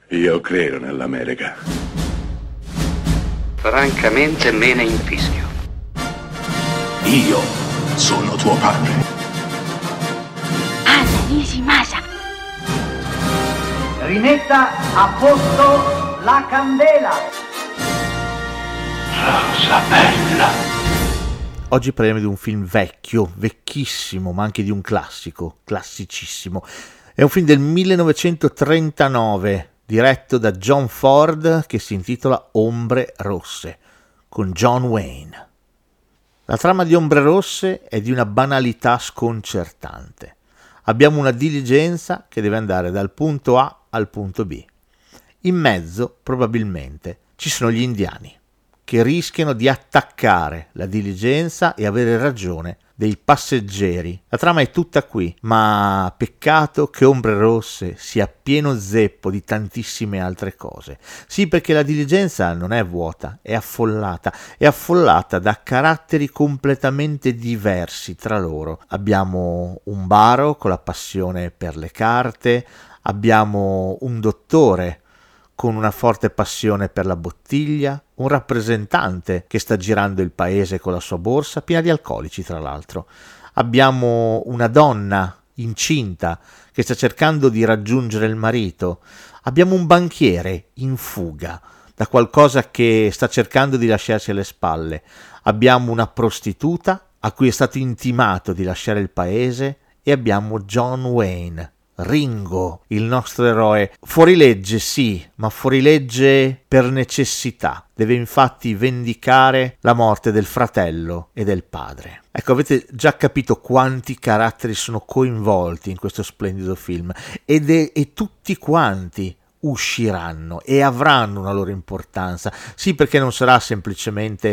Io credo nell'America. Francamente me ne infischio. Io sono tuo padre. Anna Nishimasa. Rimetta a posto la candela. Rosa bella. Oggi parliamo di un film vecchio, vecchissimo, ma anche di un classico, classicissimo. È un film del 1939, diretto da John Ford, che si intitola Ombre Rosse, con John Wayne. La trama di Ombre Rosse è di una banalità sconcertante. Abbiamo una diligenza che deve andare dal punto A al punto B. In mezzo, probabilmente, ci sono gli indiani, che rischiano di attaccare la diligenza e avere ragione dei passeggeri. La trama è tutta qui, ma peccato che Ombre Rosse sia pieno zeppo di tantissime altre cose. Sì, perché la diligenza non è vuota, è affollata da caratteri completamente diversi tra loro. Abbiamo un baro con la passione per le carte, abbiamo un dottore con una forte passione per la bottiglia, un rappresentante che sta girando il paese con la sua borsa, piena di alcolici tra l'altro. Abbiamo una donna incinta che sta cercando di raggiungere il marito. Abbiamo un banchiere in fuga da qualcosa che sta cercando di lasciarsi alle spalle. Abbiamo una prostituta a cui è stato intimato di lasciare il paese e abbiamo John Wayne, Ringo, il nostro eroe, fuorilegge sì, ma fuorilegge per necessità. Deve infatti vendicare la morte del fratello e del padre. Ecco, avete già capito quanti caratteri sono coinvolti in questo splendido film e tutti quanti usciranno e avranno una loro importanza. Sì, perché non sarà semplicemente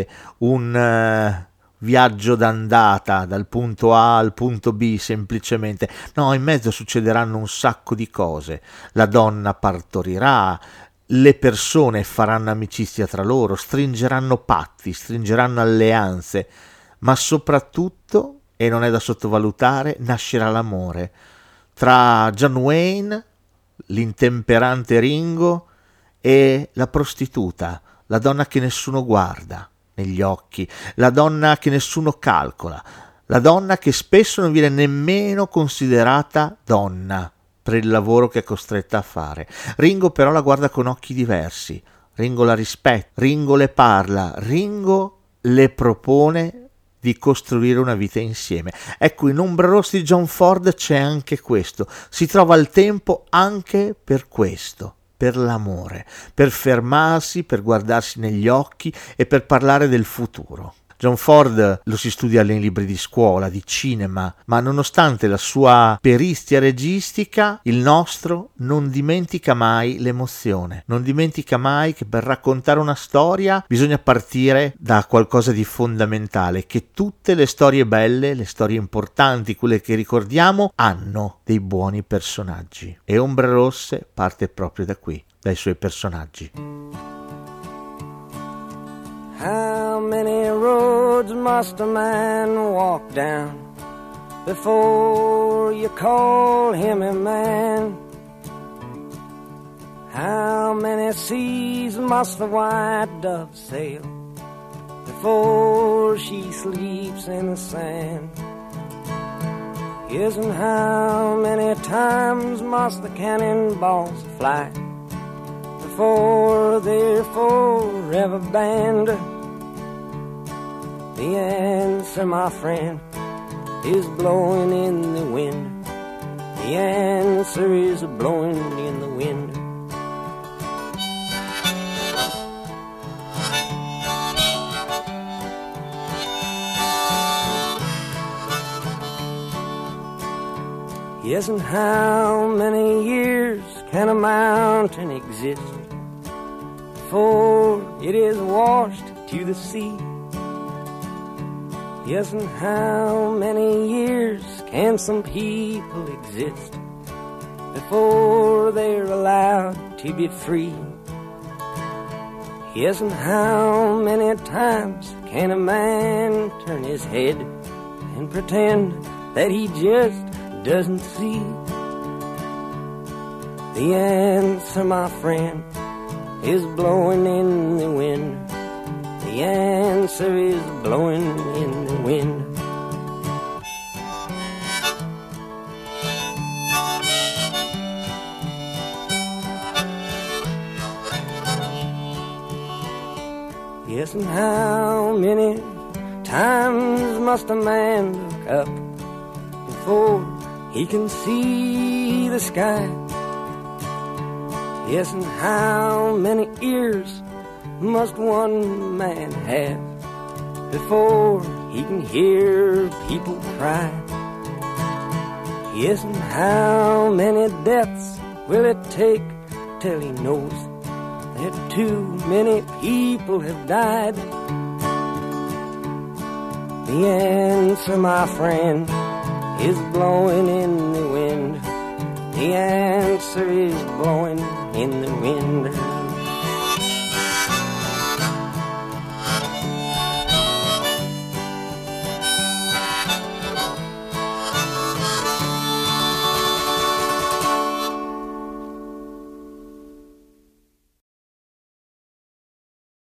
un viaggio d'andata dal punto A al punto B semplicemente, no, in mezzo succederanno un sacco di cose. La donna partorirà, le persone faranno amicizia tra loro, stringeranno patti, stringeranno alleanze, ma soprattutto, e non è da sottovalutare, nascerà l'amore tra John Wayne, l'intemperante Ringo, e la prostituta, la donna che nessuno guarda negli occhi, la donna che nessuno calcola, la donna che spesso non viene nemmeno considerata donna per il lavoro che è costretta a fare. Ringo però la guarda con occhi diversi, Ringo la rispetta, Ringo le parla, Ringo le propone di costruire una vita insieme. Ecco, in Ombre Rosse di John Ford c'è anche questo, si trova il tempo anche per questo, per l'amore, per fermarsi, per guardarsi negli occhi e per parlare del futuro. John Ford lo si studia nei libri di scuola, di cinema, ma nonostante la sua perizia registica, il nostro non dimentica mai l'emozione, non dimentica mai che per raccontare una storia bisogna partire da qualcosa di fondamentale, che tutte le storie belle, le storie importanti, quelle che ricordiamo, hanno dei buoni personaggi. E Ombre Rosse parte proprio da qui, dai suoi personaggi. How many roads must a man walk down before you call him a man? How many seas must the white dove sail before she sleeps in the sand? Yes, and how many times must the cannonballs fly before they're forever banned? The answer, my friend, is blowing in the wind. The answer is blowing in the wind. Yes, and how many years can a mountain exist before it is washed to the sea? Yes, and how many years can some people exist before they're allowed to be free? Yes, and how many times can a man turn his head and pretend that he just doesn't see? The answer, my friend, is blowing in the wind. The answer is blowing in the wind. Yes, and how many times must a man look up before he can see the sky? Yes, and how many ears must one man have before he can hear people cry? Yes, and how many deaths will it take till he knows that too many people have died? The answer, my friend, is blowing in the wind. The answer is blowing in the wind.